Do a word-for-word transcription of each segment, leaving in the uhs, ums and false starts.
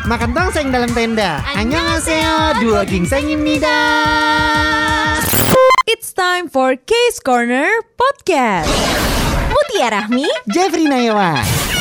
Makan tongseng dalam tenda. Annyeonghaseyo, dua gingseng입니다. It's time for Case Corner Podcast. Mutiara Rahmi, Jeffrey Nayawan.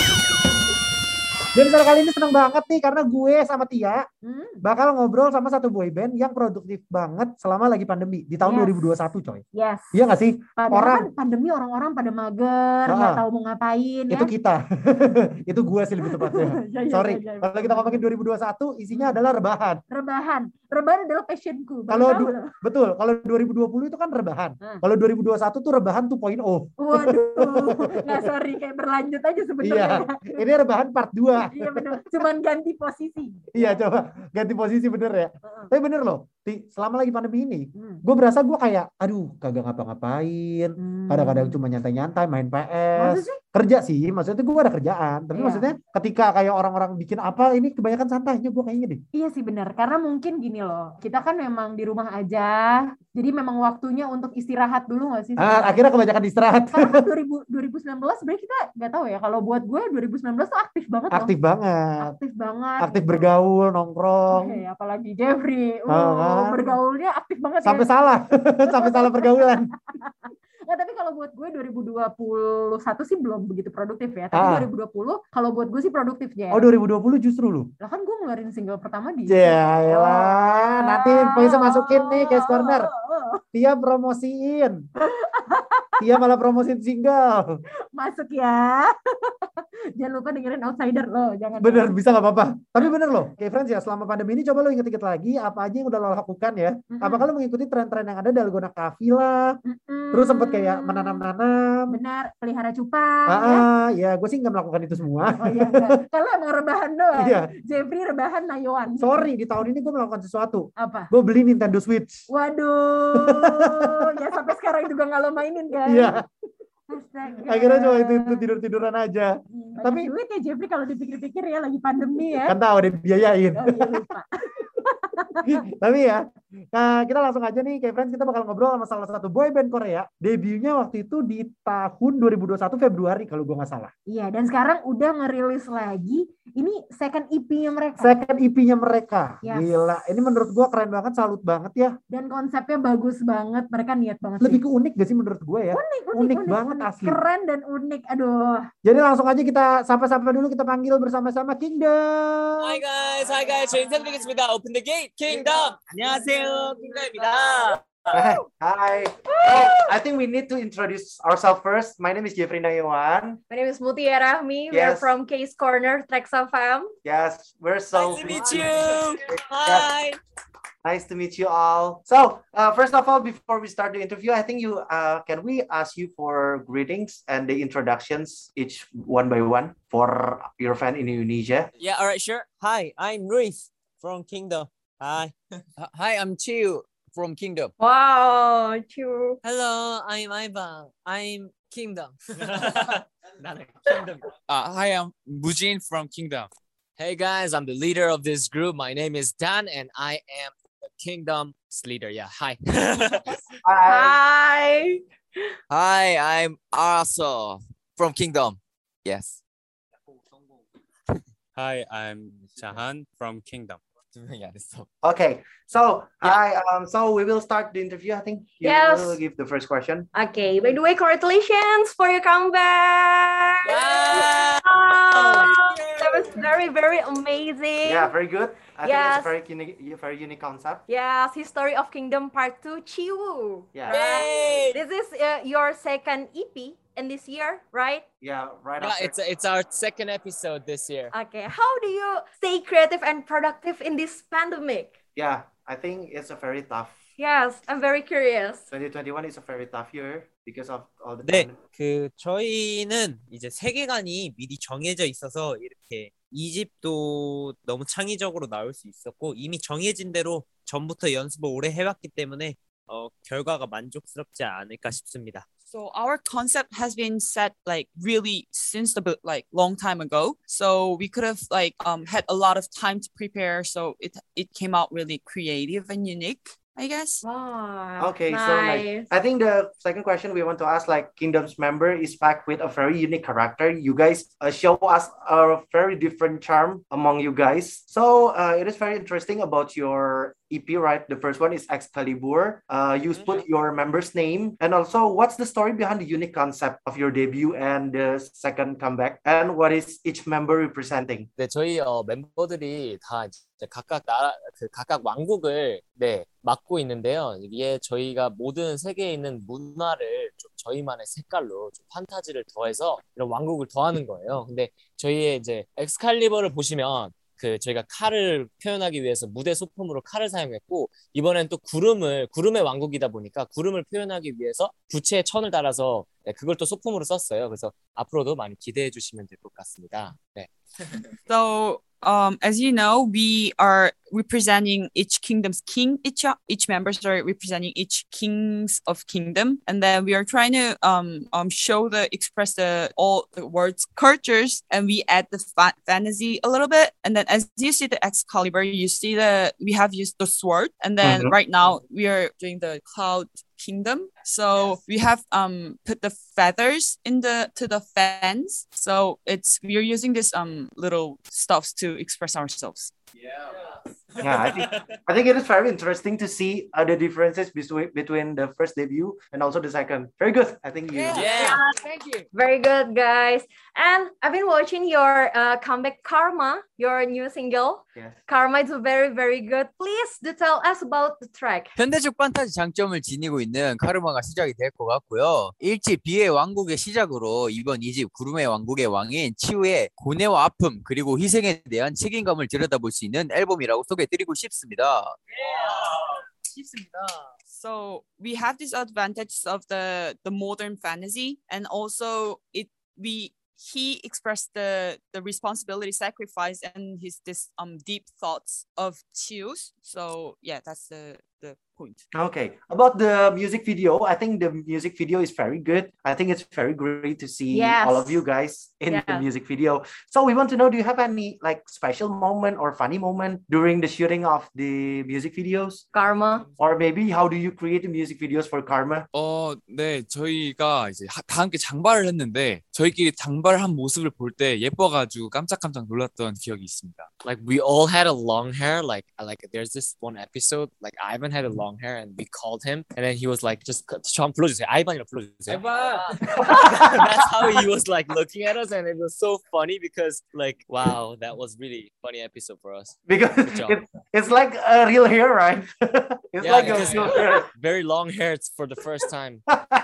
Dan kali ini seneng banget nih karena gue sama Tia hmm. bakal ngobrol sama satu boyband yang produktif banget selama lagi pandemi di tahun yes. dua ribu dua puluh satu, coy. Yes. Iya nggak sih? Padahal orang kan pandemi orang-orang pada mager, nggak nah, tahu mau ngapain. Itu ya? kita, itu gue sih lebih tepatnya. ya, ya, Sorry, ya, ya, ya. Kalau kita ngomongin dua ribu dua puluh satu, isinya adalah rebahan. Rebahan, rebahan adalah passionku. Kalau du- betul, kalau dua ribu dua puluh itu kan rebahan. Hmm. Kalau dua ribu dua puluh satu tuh rebahan dua titik nol. Waduh, nggak sorry kayak berlanjut aja sebenarnya. Iya, ini rebahan part dua. Iya benar, cuman ganti posisi. Iya coba ganti posisi bener ya. Uh-uh. Tapi bener loh, Ti, selama lagi pandemi ini, hmm. gue berasa gue kayak, aduh kagak ngapa-ngapain. Hmm. Kadang-kadang cuma nyantai-nyantai, main P S. Kerja sih, maksudnya gue ada kerjaan. Tapi iya. maksudnya ketika kayak orang-orang bikin apa, ini kebanyakan santainya gue kayaknya deh. Iya sih benar, karena mungkin gini loh, kita kan memang di rumah aja, jadi memang waktunya untuk istirahat dulu nggak sih? Ah, akhirnya kebanyakan istirahat. Karena dua ribu, dua ribu sembilan belas sebenarnya kita nggak tahu ya, kalau buat gue dua ribu sembilan belas tuh aktif banget loh. Aktif banget. Aktif banget. Aktif bergaul, nongkrong. Oke, apalagi Jeffrey, uh, ah, bergaulnya aktif banget. Sampai ya. salah, sampai salah pergaulan. Nggak, tapi kalau buat gue dua ribu dua puluh satu sih belum begitu produktif ya. Tapi ah. dua ribu dua puluh kalau buat gue sih produktif ya. Oh dua ribu dua puluh justru lu? Lah kan gue ngeluarin single pertama di ya elah, nanti bisa masukin nih Case Corner. Dia promosiin. Dia malah promosiin single. Masuk ya. Jangan lupa dengerin Outsider lo. Jangan bener, bisa gak apa-apa. Tapi bener loh, kayak friends ya, selama pandemi ini coba lo inget-inget lagi apa aja yang udah lo lakukan ya. Mm-hmm. Apakah lo mengikuti tren-tren yang ada Dalgona Coffee lah. Mm-hmm. Terus sempet kayak menanam-nanam. Benar, pelihara cupang. Ah, ya, ya gue sih gak melakukan itu semua. Oh iya, kalau emang rebahan doang. Iya. Jeffrey rebahan Nayawan. Sorry, di tahun ini gue melakukan sesuatu. Apa? Gue beli Nintendo Switch. Waduh, ya sampai sekarang juga gak lo mainin kan? Iya. Astaga. Akhirnya cuma itu, itu tidur-tiduran aja. Banyak tapi duit ya Jeffrey kalau dipikir-pikir ya, lagi pandemi ya. Kan tahu ada biayain. Oh, iya, lupa. Tapi ya, nah kita langsung aja nih kayak friends, kita bakal ngobrol sama salah satu boyband Korea. Debutnya waktu itu di tahun dua ribu dua puluh satu Februari kalau gue nggak salah. Iya, dan sekarang udah ngerilis lagi. Ini second E P-nya mereka. Second E P-nya mereka. Yes. Gila, ini menurut gue keren banget, salut banget ya. Dan konsepnya bagus banget, mereka niat banget. Lebih sih. ke unik gak sih menurut gue ya? Unik, unik, unik, unik banget unik. asli. Keren dan unik, aduh. Jadi langsung aja kita sapa-sapa dulu, kita panggil bersama-sama Kingdom. Hi guys, hi guys, 저희 인사드리겠습니다. Open the gate, Kingdom. 안녕하세요, 킹덤입니다. Hi. Hi. Oh, I think we need to introduce ourselves first. My name is Jeffrey Nayawan. My name is Mutiara Rahmi. Yes. We're from Case Corner, Trax F M. Yes, we're so nice to meet you. Hi. Nice to meet you all. So, uh, first of all, before we start the interview, I think you uh, can we ask you for greetings and the introductions each one by one for your fan in Indonesia. Yeah, all right, sure. Hi, I'm Ruiz from Kingdom. Hi. Hi, I'm Chiu from Kingdom. Wow, Chiu. Hello, I'm Ivan. I'm Kingdom. Kingdom. Uh, hi, I'm Mujin from Kingdom. Hey guys, I'm the leader of this group. My name is Dan, and I am the Kingdom's leader. Yeah, hi. Hi. Hi, I'm Arso from Kingdom. Yes. Hi, I'm Jahan from Kingdom. Okay, so yeah. I um so we will start the interview. I think you yes. will give the first question. Okay. By the way, congratulations for your comeback. Wow. Wow. That was very very amazing. Yeah, very good. I yes. think it's a very unique, very unique concept. Yes, History of Kingdom Part Two, Chiwu. Yeah. Right? This is uh, your second E P in this year, right? Yeah, right. Yeah, after. it's it's our second episode this year. Okay, how do you stay creative and productive in this pandemic? Yeah, I think it's a very tough. Yes, I'm very curious. twenty twenty-one is a very tough year because of all the. 네, 그 저희는 이제 세계관이 미리 정해져 있어서 이렇게 이 집도 너무 창의적으로 나올 수 있었고 이미 정해진 대로 전부터 연습을 오래 해왔기 때문에 어, 결과가 만족스럽지 않을까 싶습니다. So our concept has been set like really since the like long time ago. So we could have like um had a lot of time to prepare. So it it came out really creative and unique. I guess. Wow. Okay, nice. so like I think the second question we want to ask, like Kingdom's member is packed with a very unique character. You guys uh, show us a very different charm among you guys. So uh, it is very interesting about your E P, right? The first one is Excalibur. Uh, you put your member's name, and also what's the story behind the unique concept of your debut and the second comeback, and what is each member representing? 네, 저희 어, 멤버들이 다 이제 각각 나라 그 각각 왕국을 네 맡고 있는데요. 이게 저희가 모든 세계에 있는 문화를 좀 저희만의 색깔로 좀 판타지를 더해서 이런 왕국을 더하는 거예요. 근데 저희의 이제 엑스칼리버를 보시면 그 저희가 칼을 표현하기 위해서 무대 소품으로 칼을 사용했고, 이번엔 또 구름을 구름의 왕국이다 보니까 구름을 표현하기 위해서 부채에 천을 달아서 네, 그걸 또 소품으로 썼어요. 그래서 앞으로도 많이 기대해 주시면 될 것 같습니다. 네. So, um, as you know, we are representing each kingdom's king. Each each members are representing each kings of kingdom, and then we are trying to um um show the express the all the words cultures, and we add the fa- fantasy a little bit. And then as you see the Excalibur, you see the we have used the sword, and then Mhm. right now we are doing the cloud kingdom. So we have um put the feathers in the to the fans. So it's we are using this um little stuffs to express ourselves. Yeah, I think I think it is very interesting to see uh, the differences between between the first debut and also the second. Very good. I think you. Yeah. Thank you. Very good, guys. And I've been watching your uh, comeback Karma, your new single. Yes. Karma is very, very good. Please do tell us about the track. 현대적 판타지 장점을 지니고 있는 카르마가 시작이 될 것 같고요. 일 집 비의 왕국의 시작으로 이번 이 집 구름의 왕국의 왕인 치우의 고뇌와 아픔 그리고 희생에 대한 책임감을 들여다볼 수 있는 앨범이라고 소개해드리고 싶습니다. So we have this advantage of the the modern fantasy, and also it we he expressed the the responsibility, sacrifice, and his this um deep thoughts of Chius. So yeah, that's the the point. Okay, about the music video, I think the music video is very good. I think it's very great to see Yes. all of you guys in the Yeah. music video. So we want to know, do you have any like special moment or funny moment during the shooting of the music videos? Karma. Or maybe how do you create the music videos for Karma? 어, 네, 저희가 이제 하- 다 함께 장발을 했는데 저희끼리 장발한 모습을 볼 때 예뻐가지고 깜짝깜짝 놀랐던 기억이 있습니다. Like we all had a long hair. Like like there's this one episode. Like Ivan had a long hair, and we called him, and then he was like, "Just 저 한번 불러주세요. 아이반이라 불러주세요." That's how he was like looking at us, and it was so funny because like wow, that was really funny episode for us. Because Good job. it, it's like a real hair, right? It's Yeah, like a because- real hair. Very long hair for the first time.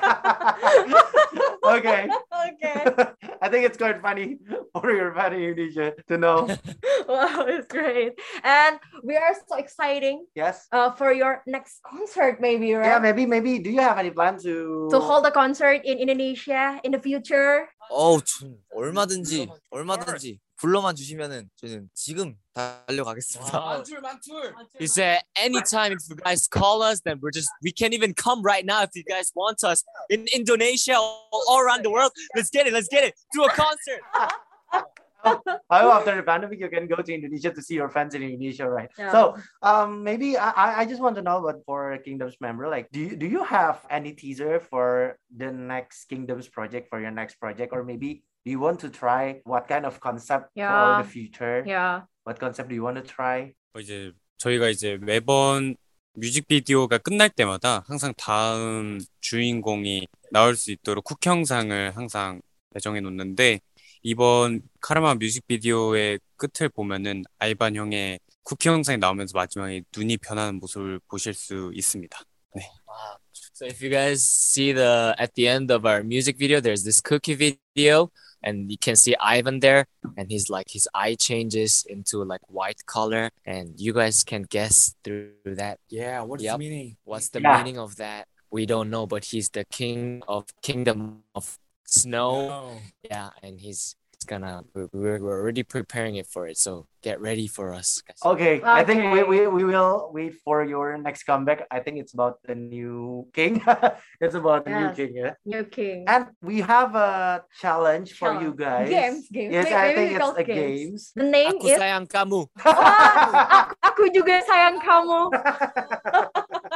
Okay. Okay. I think it's quite funny for your fan in Indonesia to know. Wow, it's great. And we are so exciting Yes. uh, for your next concert, maybe, right? Yeah, maybe, maybe. Do you have any plan to To hold a concert in Indonesia in the future. 어우, 전 얼마든지 얼마든지 불러만 주시면은 저는 지금 달려가겠습니다. Wow. He said, anytime if you guys call us, then we're just we can't even come right now if you guys want us in Indonesia all, all around the world. Let's get it, let's get it. Do a concert. I hope after the pandemic you can go to Indonesia to see your fans in Indonesia, right? Yeah. So, um, maybe I, I- I just want to know, but for Kingdoms member, like, do you do you have any teaser for the next Kingdoms project, for your next project, or maybe do you want to try what kind of concept Yeah. for the future? Yeah. What concept do you want to try? 어, 이제 저희가 이제 매번 뮤직비디오가 끝날 때마다 항상 다음 주인공이 나올 수 있도록 쿡 영상을 항상 배정해 놓는데 이번 카르마 뮤직비디오의 끝을 보면은 아이반 형의 쿠키 영상이 나오면서 마지막에 눈이 변하는 모습을 보실 수 있습니다. 네. Wow. So if you guys see the at the end of our music video, there's this cookie video, and you can see Ivan there, and he's like his eye changes into like white color, and you guys can guess through that. Yeah, what's Yep. the meaning? What's the Yeah. meaning of that? We don't know, but he's the king of kingdom of snow. Yeah, and he's, he's gonna we're, we're we're already preparing it for it. So get ready for us, guys. Okay, I think we, Okay. we, we will wait for your next comeback. I think it's about the new king. It's about the new Yes. king, yeah. New king. And we have a challenge for you guys. Games, games. Yes, May- I maybe think we it's call a games. games. The name Aku is sayang kamu. aku, aku juga sayang kamu.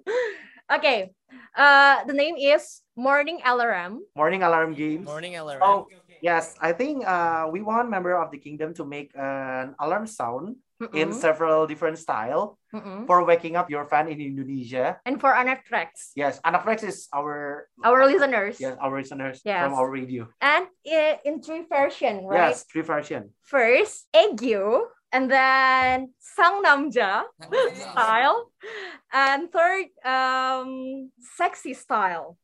Okay. Uh, the name is Morning Alarm. Morning Alarm Games. Morning alarm. Oh, yes. I think uh, we want member of the kingdom to make an alarm sound Mm-mm. in several different style Mm-mm. for waking up your fan in Indonesia. And for Anak Tracks, Yes, Anafrex is our our listeners. yes our listeners Yes. from our radio. And i- in three version, right? Yes, three version. First, Egyo, and then Sang Namja style, and third, um, sexy style.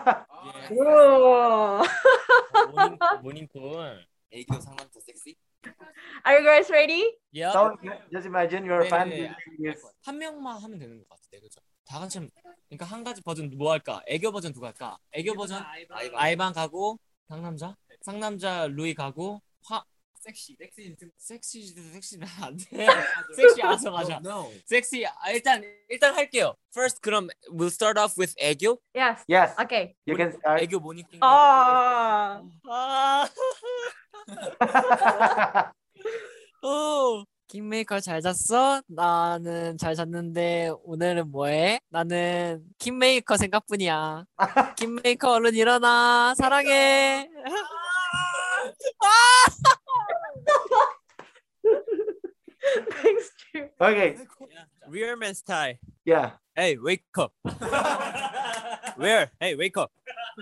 Whoa. 모닝 모닝콜. 애교 상남자 섹시. Are you guys ready? Yeah. So just imagine your 네, fan 네, 네. using this. 한 명만 하면 되는 것 같아. 그죠? 다 같이 하면, 그러니까 한 가지 버전 뭐 할까? 애교 버전 누가 할까? 애교 버전 아이방 가고 상남자, 상남자 루이 가고 화 섹시 섹시 섹시 섹시는 안 돼. 섹시 알아서 맞아. 섹시 아, 일단 일단 할게요. First 그럼 we'll start off with 애교. Yes. Yes, Okay. you can start. 애교 모닝. Oh. 아. 오. 킹메이커 잘 잤어? 나는 잘 잤는데 오늘은 뭐해? 나는 킹메이커 생각뿐이야. 킹메이커 얼른 일어나. 사랑해. Thanks, Drew. Okay, Rearman style. yeah. Hey, wake up. Where? Hey, wake up.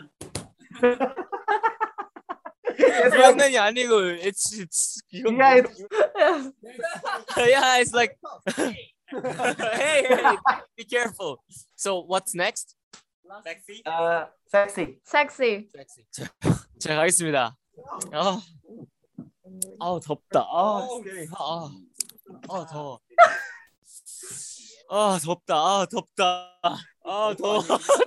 It's like, 장난이 아니고 it's it's 이건 yeah, it's, yeah, it's like hey, hey, be careful. So what's next? Sexy. uh, sexy. Sexy. Sexy. 제가 가겠습니다. 아, 아우 덥다. 아, 아, 아 더워. 아 덥다. 아 덥다. 아 더워.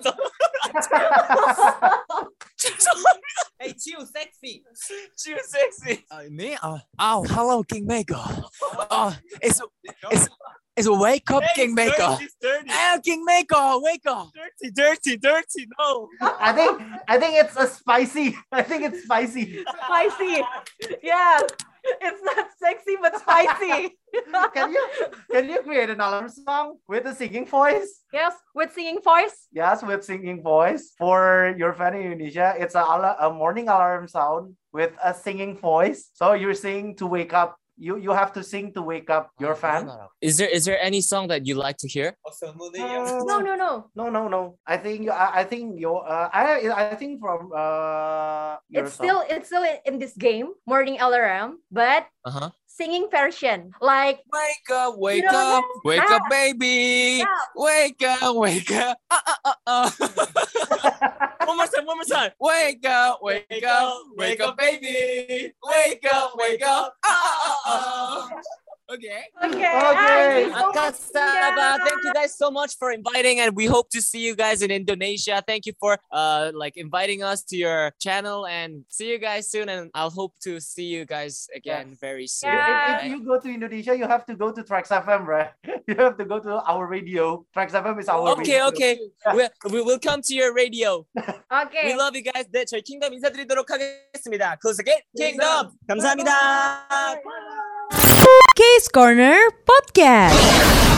Hey, chill, sexy. Chill sexy. Uh, me? Uh, oh, hello, Kingmaker. Uh, it's it's it's a wake up, Kingmaker. It's dirty, Oh, Kingmaker, wake up. dirty, dirty, dirty. No. I think I think it's a spicy. I think it's spicy. Spicy. Yeah. It's not sexy but spicy. Can you can you create an alarm song with a singing voice? Yes, with singing voice. Yes, with singing voice for your fan in Indonesia. It's a, ala- a morning alarm sound with a singing voice. So you're singing to wake up. You you have to sing to wake up your fan. Is there is there any song that you like to hear? No, no, no. No, no, no. I think you. I, I think your. Uh, I I think from uh. Your It's song. still it's still in, in this game, Morning Alarm, but Uh huh. singing version. Like Wake up, wake You know up, wake that? up, baby. Yeah. Wake up, wake up. Uh, uh, uh, uh. One more time. One more time. Wake up, wake up, wake up, baby. Wake up, wake up. Uh, uh, uh, uh. Okay. okay. Okay. ah, Akasaba, thank you guys so much for inviting, and we hope to see you guys in Indonesia. Thank you for uh like inviting us to your channel, and see you guys soon. And I'll hope to see you guys again Yes. very soon. If, Yeah. if right? you go to Indonesia, you have to go to Trax F M, right? You have to go to our radio. Trax F M is our Okay, radio. okay. We, we will come to your radio. Okay. We love you guys. 네, 저희 킹덤 인사드리도록 하겠습니다. Close 킹덤. 감사합니다. Case Corner Podcast.